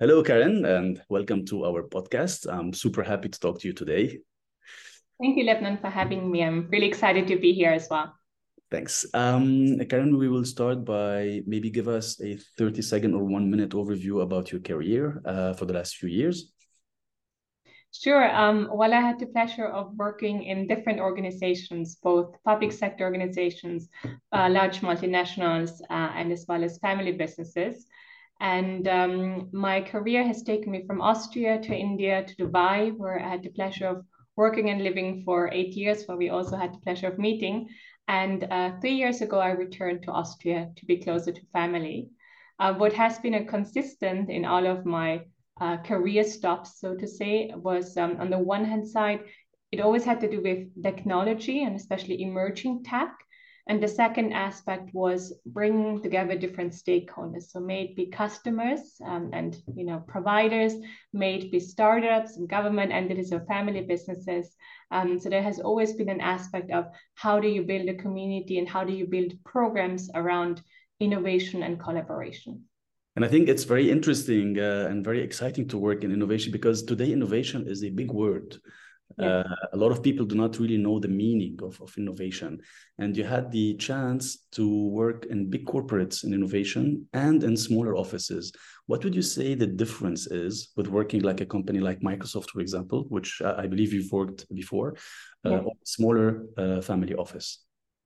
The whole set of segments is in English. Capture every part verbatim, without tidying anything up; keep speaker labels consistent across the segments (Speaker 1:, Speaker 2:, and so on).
Speaker 1: Hello, Karen, and welcome to our podcast. I'm super happy to talk to you today.
Speaker 2: Thank you, Lebanon, for having me. I'm really excited to be here as well.
Speaker 1: Thanks. Um, Karen, we will start by maybe give us a thirty second or one minute overview about your career uh, for the last few years.
Speaker 2: Sure. Um, well, I had the pleasure of working in different organizations, both public sector organizations, uh, large multinationals, uh, and as well as family businesses. And um, my career has taken me from Austria to India to Dubai, where I had the pleasure of working and living for eight years, where we also had the pleasure of meeting. And uh, three years ago, I returned to Austria to be closer to family. Uh, what has been a consistent in all of my uh, career stops, so to say, was um, on the one hand side, it always had to do with technology and especially emerging tech. And the second aspect was bringing together different stakeholders. So may it be customers um, and you know providers, may it be startups and government entities or family businesses. Um, so there has always been an aspect of how do you build a community and how do you build programs around innovation and collaboration.
Speaker 1: And I think it's very interesting uh, and very exciting to work in innovation because today innovation is a big word.
Speaker 2: Yes.
Speaker 1: Uh, a lot of people do not really know the meaning of, of innovation. And you had the chance to work in big corporates in innovation and in smaller offices. What would you say the difference is with working like a company like Microsoft, for example, which uh, I believe you've worked before, uh,
Speaker 2: Yes.
Speaker 1: or smaller uh, family office?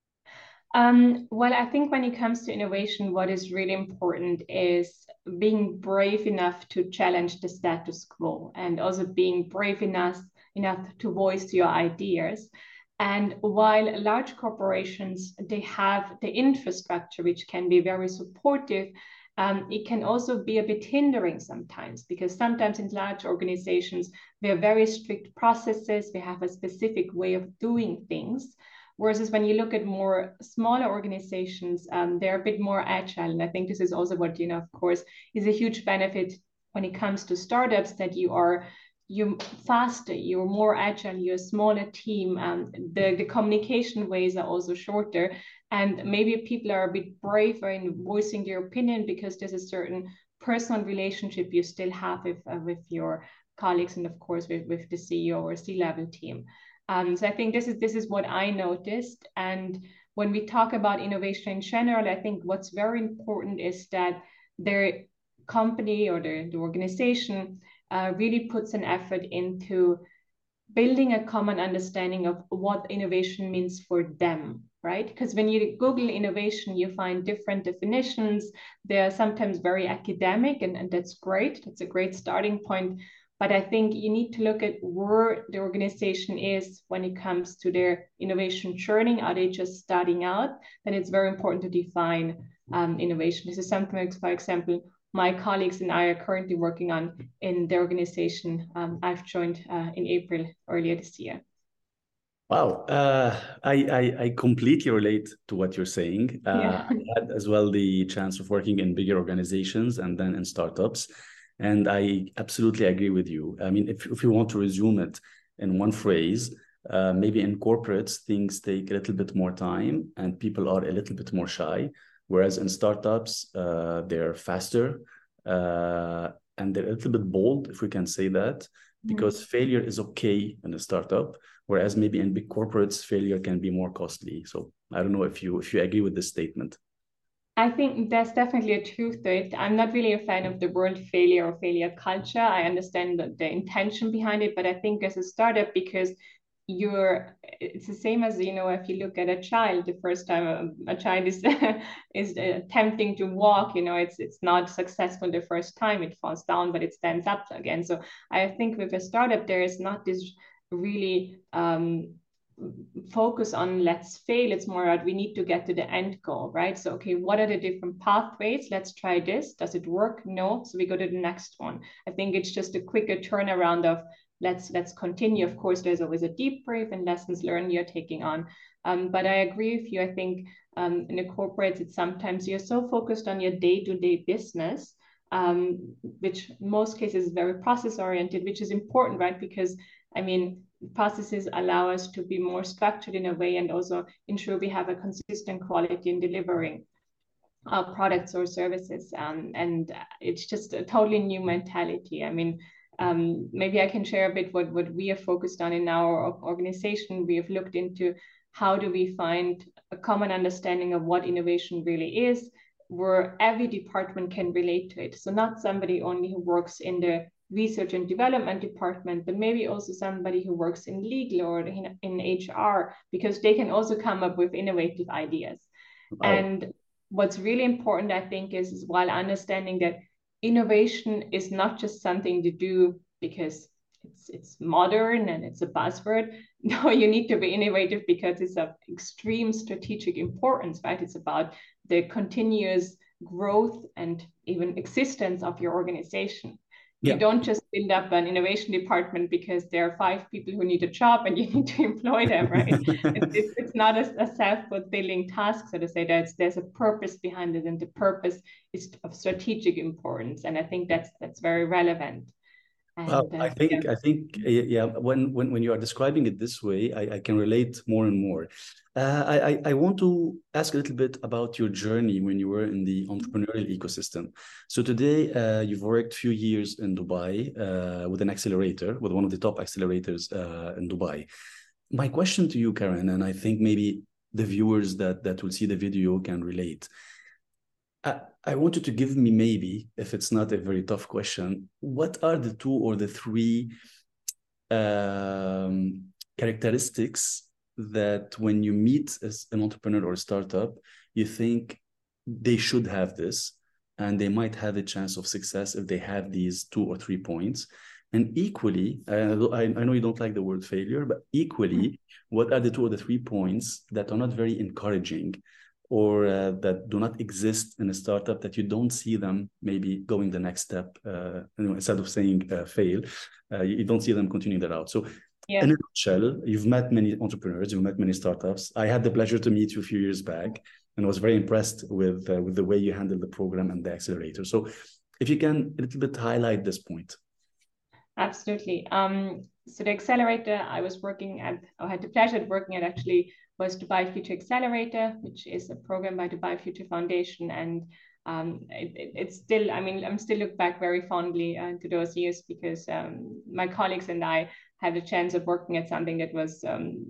Speaker 2: Um, well, I think when it comes to innovation, what is really important is being brave enough to challenge the status quo and also being brave enough, enough to voice your ideas. And while large corporations, they have the infrastructure, which can be very supportive, um, it can also be a bit hindering sometimes because sometimes in large organizations, we have very strict processes, we have a specific way of doing things. Whereas when you look at more smaller organizations, um, they're a bit more agile. And I think this is also what, you know, of course, is a huge benefit when it comes to startups that you are you faster, you're more agile, you're a smaller team. Um, the, the communication ways are also shorter. And maybe people are a bit braver in voicing their opinion because there's a certain personal relationship you still have with, uh, with your colleagues and of course with, with the C E O or C-level team. Um, so I think this is this is what I noticed. And when we talk about innovation in general, I think what's very important is that their company or the, the organization uh, really puts an effort into building a common understanding of what innovation means for them, right? Because when you Google innovation, you find different definitions. They're sometimes very academic, and, and that's great. That's a great starting point. But I think you need to look at where the organization is when it comes to their innovation journey. Are they just starting out? Then it's very important to define um, innovation. This is something, for example, my colleagues and I are currently working on in the organization um, I've joined uh, in April earlier this year.
Speaker 1: Wow, uh, I, I I completely relate to what you're saying. Uh,
Speaker 2: Yeah.
Speaker 1: I had as well the chance of working in bigger organizations and then in startups, and I absolutely agree with you. I mean, if if you want to resume it in one phrase, uh, maybe in corporates things take a little bit more time and people are a little bit more shy, whereas in startups uh, they're faster uh, and they're a little bit bold, if we can say that, because failure is okay in a startup, whereas maybe in big corporates failure can be more costly. So I don't know if you if you agree with this statement.
Speaker 2: I think there's definitely a truth to it. I'm not really a fan of the word failure or failure culture. I understand the, the intention behind it, but I think as a startup, because you're it's the same as you know if you look at a child the first time a, a child is is attempting to walk, you know it's it's not successful the first time, it falls down but it stands up again. So I think with a startup there is not this really um focus on let's fail. It's more that we need to get to the end goal, right? So okay, what are the different pathways? Let's try this. Does it work? No, so we go to the next one. I think it's just a quicker turnaround of let's let's continue. Of course there's always a debrief and lessons learned you're taking on, um, but I agree with you. I think um, in the corporates it's sometimes you're so focused on your day-to-day business, um, which in most cases is very process oriented, which is important, right? Because I mean processes allow us to be more structured in a way and also ensure we have a consistent quality in delivering. uh, products or services. Um, and it's just a totally new mentality. I mean, um, maybe I can share a bit what, what we are focused on in our organization. We have looked into how do we find a common understanding of what innovation really is, where every department can relate to it. So not somebody only who works in the research and development department, but maybe also somebody who works in legal or in, in H R, because they can also come up with innovative ideas.
Speaker 1: Oh.
Speaker 2: And what's really important, I think, is, is while understanding that innovation is not just something to do because it's it's modern and it's a buzzword. No, you need to be innovative because it's of extreme strategic importance, right? It's about the continuous growth and even existence of your organization. Yeah. You don't just build up an innovation department because there are five people who need a job and you need to employ them, right? it's, it's not a, a self-fulfilling task, so to say. That there's a purpose behind it, and the purpose is of strategic importance. And I think that's that's very relevant.
Speaker 1: And, well, I think yeah. I think yeah. When when when you are describing it this way, I, I can relate more and more. Uh, I I want to ask a little bit about your journey when you were in the entrepreneurial ecosystem. So today, uh, you've worked a few years in Dubai uh, with an accelerator, with one of the top accelerators uh, in Dubai. My question to you, Karen, and I think maybe the viewers that that will see the video can relate. I, I want you to give me, maybe, if it's not a very tough question, what are the two or the three um, characteristics that when you meet as an entrepreneur or a startup, you think they should have this, and they might have a chance of success if they have these two or three points? And equally, uh, I, I know you don't like the word failure, but equally, mm-hmm. what are the two or the three points that are not very encouraging, or uh, that do not exist in a startup, that you don't see them maybe going the next step, uh, you know, instead of saying uh, fail, uh, you don't see them continuing that out. So yeah. In a nutshell, you've met many entrepreneurs, you've met many startups. I had the pleasure to meet you a few years back and was very impressed with, uh, with the way you handled the program and the accelerator. So if you can a little bit highlight this point.
Speaker 2: Absolutely. Um, so the accelerator I was working at, or had the pleasure of working at actually, was Dubai Future Accelerator, which is a program by Dubai Future Foundation. And um, it, it, it's still, I mean, I'm still look back very fondly uh, to those years, because um, my colleagues and I had a chance of working at something that was um,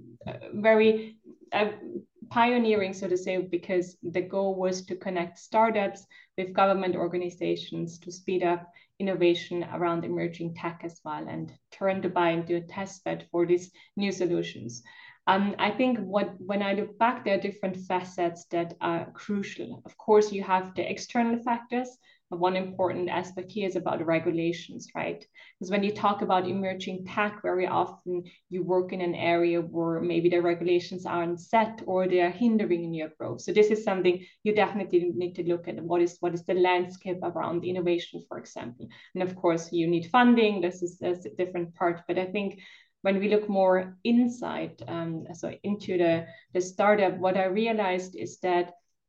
Speaker 2: very uh, pioneering, so to say, because the goal was to connect startups with government organizations to speed up innovation around emerging tech as well, and turn Dubai into a test bed for these new solutions. Um, I think what when I look back, there are different facets that are crucial. Of course, you have the external factors. One important aspect here is about the regulations, right? Because when you talk about emerging tech, very often you work in an area where maybe the regulations aren't set or they are hindering in your growth. So this is something you definitely need to look at. What is what is the landscape around innovation, for example? And of course, you need funding. This is, this is a different part. But I think when we look more inside, um, so into the, the startup, what I realized is that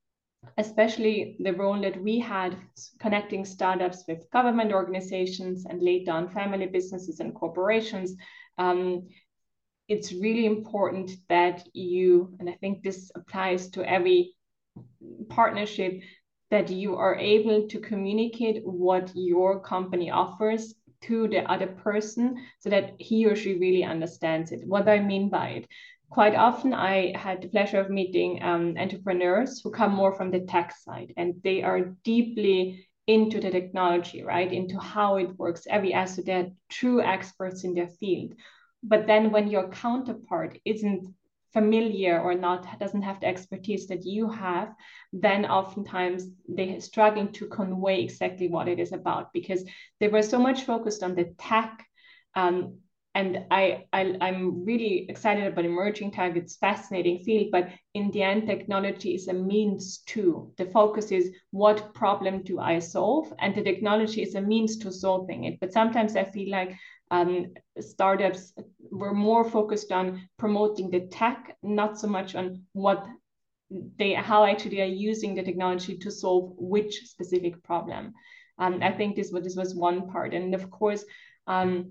Speaker 2: especially the role that we had connecting startups with government organizations and later on family businesses and corporations, um, it's really important that you, and I think this applies to every partnership, that you are able to communicate what your company offers to the other person so that he or she really understands it. What do I mean by it? Quite often I had the pleasure of meeting um, entrepreneurs who come more from the tech side, and they are deeply into the technology, right? Into how it works, every aspect. They're true experts in their field. But then when your counterpart isn't familiar or not, doesn't have the expertise that you have, then oftentimes they're struggling to convey exactly what it is about, because they were so much focused on the tech. Um, and I, I, I'm really excited about emerging tech. It's a fascinating field, but in the end, technology is a means to. The focus is what problem do I solve? And the technology is a means to solving it. But sometimes I feel like um, startups were more focused on promoting the tech, not so much on what they, how actually they are using the technology to solve which specific problem. Um, I think this, this was one part. And of course, um,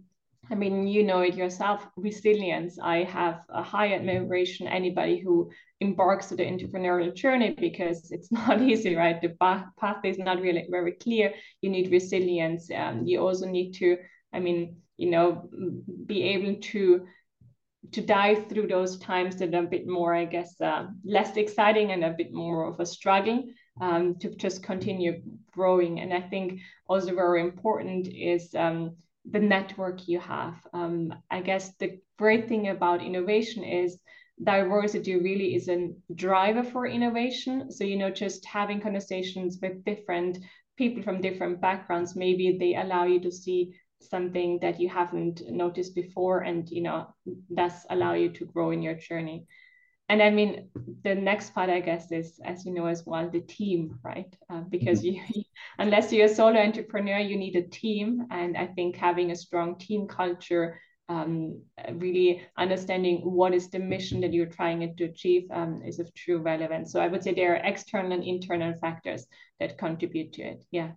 Speaker 2: I mean, you know it yourself, resilience. I have a high admiration anybody who embarks to the entrepreneurial journey, because it's not easy, right? The path is not really very clear. You need resilience. Um, you also need to, I mean, you know, be able to to dive through those times that are a bit more, I guess, uh, less exciting and a bit more of a struggle, um, to just continue growing. And I think also very important is um, the network you have. Um, I guess the great thing about innovation is diversity really is a driver for innovation. So, you know, just having conversations with different people from different backgrounds, maybe they allow you to see something that you haven't noticed before, and you know, thus allow you to grow in your journey. And I mean, the next part, I guess, is, as you know as well, the team, right? Uh, because you, unless you're a solo entrepreneur, you need a team. And I think having a strong team culture, um, really understanding what is the mission that you're trying to achieve, um, is of true relevance. So I would say there are external and internal factors that contribute to it. Yeah.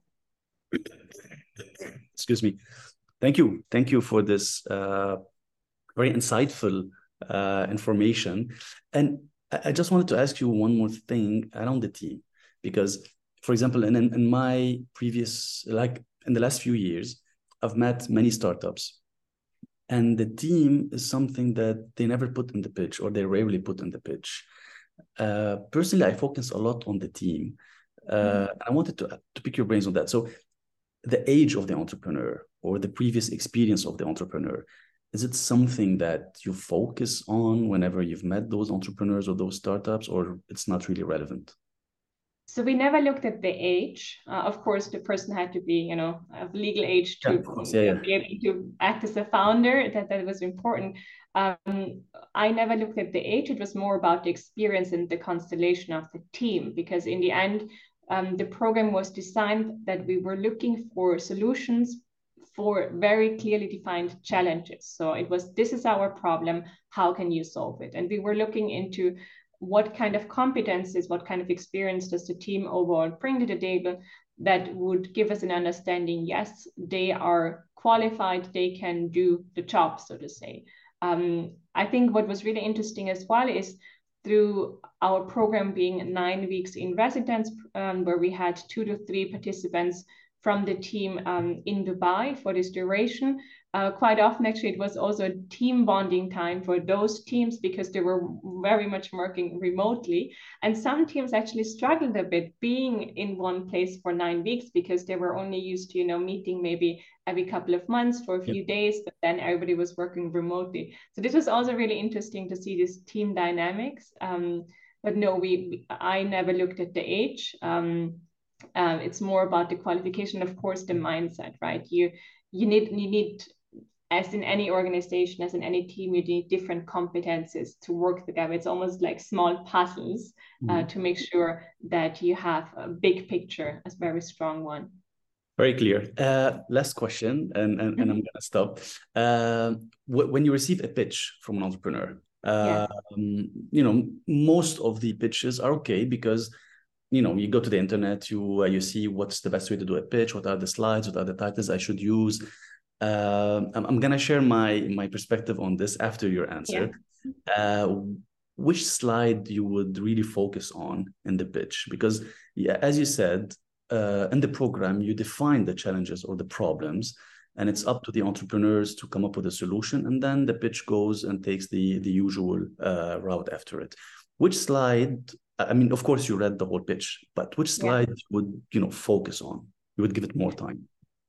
Speaker 1: Excuse me. Thank you. Thank you for this uh, very insightful uh, information. And I just wanted to ask you one more thing around the team, because, for example, in, in my previous, like in the last few years, I've met many startups, and the team is something that they never put in the pitch, or they rarely put in the pitch. Uh, personally, I focus a lot on the team. Uh, mm-hmm. I wanted to, to pick your brains on that. So the age of the entrepreneur or the previous experience of the entrepreneur, is it something that you focus on whenever you've met those entrepreneurs or those startups, or it's not really relevant?
Speaker 2: So we never looked at the age. Uh, of course, the person had to be, you know, of legal age to
Speaker 1: yeah, yeah, yeah.
Speaker 2: be able to act as a founder. That that was important. Um, I never looked at the age. It was more about the experience and the constellation of the team, because in the end, um, the program was designed that we were looking for solutions for very clearly defined challenges. So it was, this is our problem, how can you solve it? And we were looking into what kind of competencies, what kind of experience does the team overall bring to the table that would give us an understanding, yes, they are qualified, they can do the job, so to say. Um, I think what was really interesting as well is through our program being nine weeks in residence, um, where we had two to three participants from the team um, in Dubai for this duration. Uh, quite often, actually, it was also a team bonding time for those teams, because they were very much working remotely. And some teams actually struggled a bit being in one place for nine weeks because they were only used to, you know, meeting maybe every couple of months for a few yep. days, but then everybody was working remotely. So this was also really interesting to see this team dynamics. Um, but no, we, we I never looked at the age. Um, uh, it's more about the qualification, of course, the mindset, right? You you need you need, as in any organization, as in any team, you need different competences to work together. It's almost like small puzzles uh, mm-hmm. to make sure that you have a big picture, a very strong one.
Speaker 1: Very clear. Uh, last question, and, and, and I'm going to stop. Uh, when you receive a pitch from an entrepreneur, uh, yeah. um, you know, most of the pitches are okay, because you know, you go to the internet, you uh, you see what's the best way to do a pitch, what are the slides, what are the titles I should use. Uh, I'm, I'm gonna share my my perspective on this after your answer. Yeah. Uh, which slide you would really focus on in the pitch? Because yeah, as you said, uh, in the program, you define the challenges or the problems, and it's up to the entrepreneurs to come up with a solution, and then the pitch goes and takes the the usual uh, route after it. Which slide? I mean, of course, you read the whole pitch, but which slide yeah. would you know focus on? You would give it more time.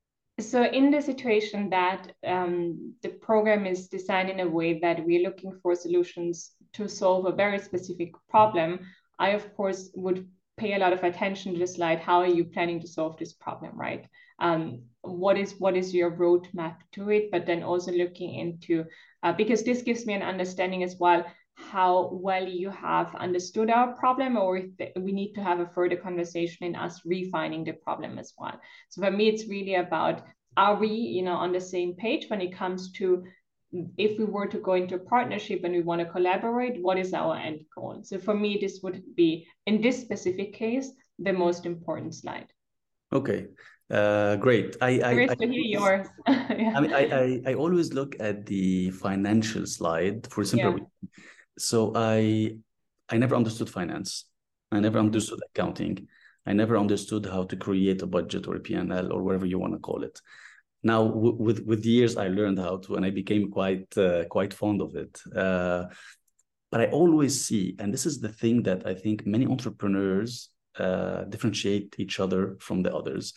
Speaker 2: So in the situation that um, the program is designed in a way that we're looking for solutions to solve a very specific problem, I, of course, would pay a lot of attention to the slide. How are you planning to solve this problem, right? Um, what is what is your roadmap to it? But then also looking into, uh, because this gives me an understanding as well, how well you have understood our problem, or if we need to have a further conversation in us refining the problem as well. So for me, it's really about, are we, you know, on the same page when it comes to, if we were to go into a partnership and we want to collaborate, what is our end goal? So for me, this would be, in this specific case, the most important slide.
Speaker 1: Okay. Uh, great. I, I,
Speaker 2: Curious
Speaker 1: I,
Speaker 2: to hear
Speaker 1: always-
Speaker 2: yours.
Speaker 1: I
Speaker 2: Yeah.
Speaker 1: mean, I, I, I always look at the financial slide for a simple
Speaker 2: Yeah.
Speaker 1: reason. So I, I never understood finance. I never
Speaker 2: Mhm.
Speaker 1: understood accounting. I never understood how to create a budget or a P and L or whatever you want to call it. Now, w- with with years, I learned how to, and I became quite uh, quite fond of it. Uh, but I always see, and this is the thing that I think many entrepreneurs uh, differentiate each other from the others.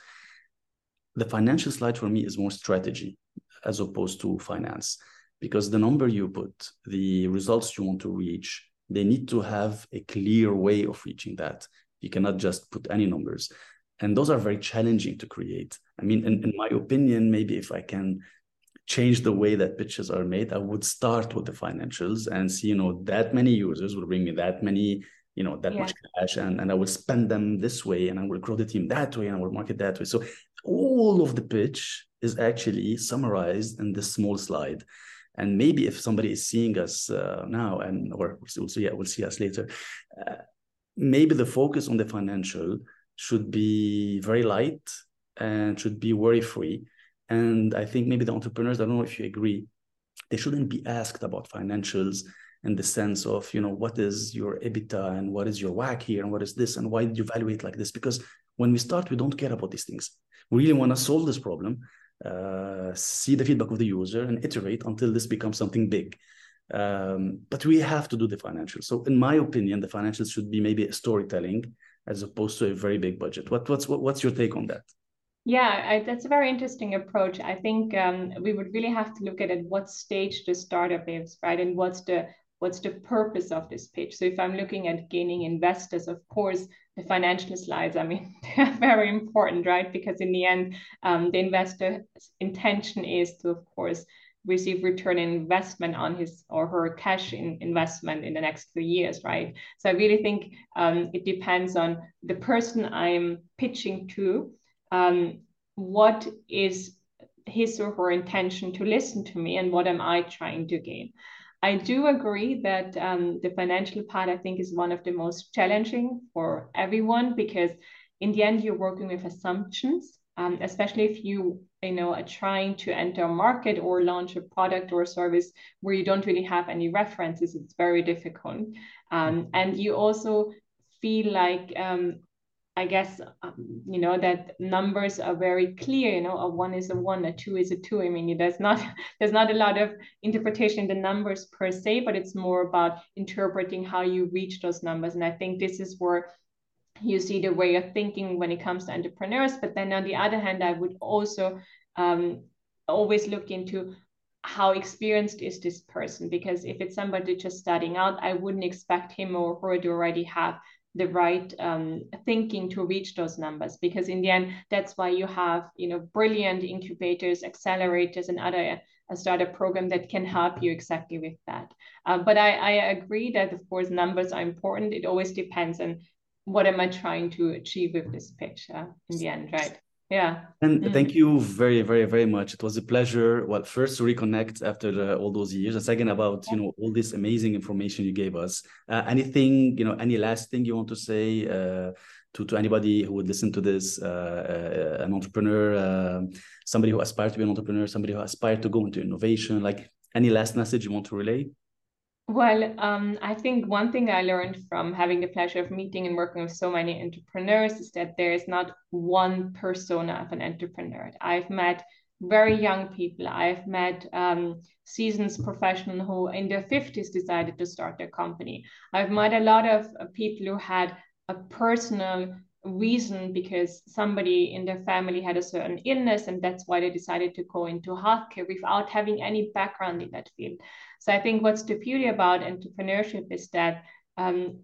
Speaker 1: The financial slide for me is more strategy as opposed to finance, because the number you put, the results you want to reach, they need to have a clear way of reaching that. You cannot just put any numbers. And those are very challenging to create. I mean, in, in my opinion, maybe if I can change the way that pitches are made, I would start with the financials and see, you know, that many users will bring me that many, you know, that
Speaker 2: Yeah.
Speaker 1: much cash, and, and I will spend them this way, and I will grow the team that way, and I will market that way. So all of the pitch is actually summarized in this small slide. And maybe if somebody is seeing us uh, now, and or we'll see, we'll see us later, uh, maybe the focus on the financial should be very light and should be worry free. And I think maybe the entrepreneurs, I don't know if you agree, they shouldn't be asked about financials in the sense of, you know, what is your EBITDA and what is your W A C here and what is this and why did you evaluate like this? Because when we start, we don't care about these things. We really want to solve this problem, uh, see the feedback of the user and iterate until this becomes something big. Um, but we have to do the financials. So in my opinion, the financials should be maybe a storytelling as opposed to a very big budget. What, what's, what, what's your take on that?
Speaker 2: Yeah, I, that's a very interesting approach. I think um, we would really have to look at at what stage the startup is, right? And what's the what's the purpose of this pitch? So if I'm looking at gaining investors, of course, the financial slides, I mean, they're very important, right? Because in the end, um, the investor's intention is to, of course, receive return in investment on his or her cash in investment in the next few years, right? So I really think um, it depends on the person I'm pitching to. Um, what is his or her intention to listen to me, and what am I trying to gain? I do agree that um, the financial part, I think, is one of the most challenging for everyone, because in the end, you're working with assumptions, um, especially if you, you know, are trying to enter a market or launch a product or a service where you don't really have any references. It's very difficult. Um, and you also feel like um, I guess, um, you know, that numbers are very clear, you know, a one is a one, a two is a two. I mean, there's not, there's not a lot of interpretation in the numbers per se, but it's more about interpreting how you reach those numbers. And I think this is where you see the way of thinking when it comes to entrepreneurs. But then on the other hand, I would also um, always look into how experienced is this person, because if it's somebody just starting out, I wouldn't expect him or her to already have the right um, thinking to reach those numbers, because in the end, that's why you have, you know, brilliant incubators, accelerators, and other a startup program that can help you exactly with that. Uh, but I, I agree that, of course, numbers are important. It always depends on what am I trying to achieve with this pitch uh, in the end, right? Yeah.
Speaker 1: And
Speaker 2: Mm.
Speaker 1: thank you very, very, very much. It was a pleasure. Well, first to reconnect after the, all those years, and second about, you know, all this amazing information you gave us. Uh, anything, you know, any last thing you want to say uh, to to anybody who would listen to this, uh, uh, an entrepreneur, uh, somebody who aspires to be an entrepreneur, somebody who aspires to go into innovation, like any last message you want to relay?
Speaker 2: Well, um, I think one thing I learned from having the pleasure of meeting and working with so many entrepreneurs is that there is not one persona of an entrepreneur. I've met very young people. I've met um, seasoned professionals who in their fifties decided to start their company. I've met a lot of uh, people who had a personal reason because somebody in their family had a certain illness, and that's why they decided to go into healthcare without having any background in that field. So I think what's the beauty about entrepreneurship is that um,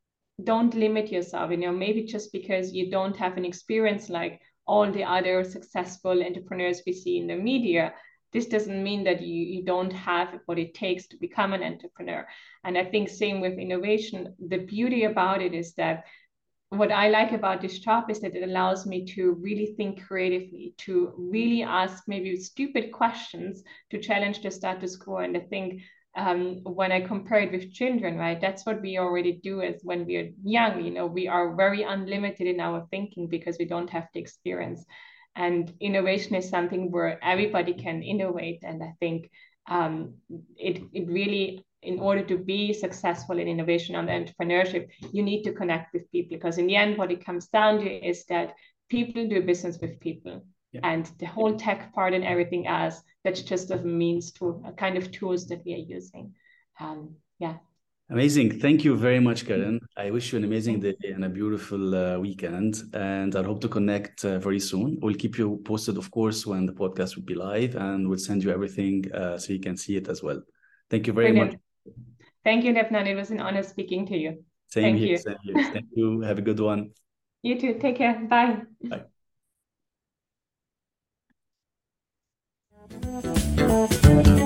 Speaker 2: don't limit yourself. You know, maybe just because you don't have an experience like all the other successful entrepreneurs we see in the media, this doesn't mean that you, you don't have what it takes to become an entrepreneur. And I think same with innovation. The beauty about it is that what I like about this job is that it allows me to really think creatively, to really ask maybe stupid questions, to challenge the status quo. And I think um, when I compare it with children, right, that's what we already do as when we are young. You know, we are very unlimited in our thinking because we don't have the experience. And innovation is something where everybody can innovate. And I think um, it, it really, in order to be successful in innovation and entrepreneurship, you need to connect with people, because in the end, what it comes down to is that people do business with people. Yeah. And the whole tech part and everything else, that's just a means to a kind of tools that we are using. Um, yeah.
Speaker 1: Amazing. Thank you very much, Karen. I wish you an amazing day and a beautiful uh, weekend. And I hope to connect uh, very soon. We'll keep you posted, of course, when the podcast will be live, and we'll send you everything uh, so you can see it as well. Thank you very Brilliant. much.
Speaker 2: Thank you, Defnan. It was an honor speaking to you.
Speaker 1: Same
Speaker 2: Thank
Speaker 1: here.
Speaker 2: you.
Speaker 1: Same here. Thank you. Have a good one.
Speaker 2: You too. Take care. Bye.
Speaker 1: Bye.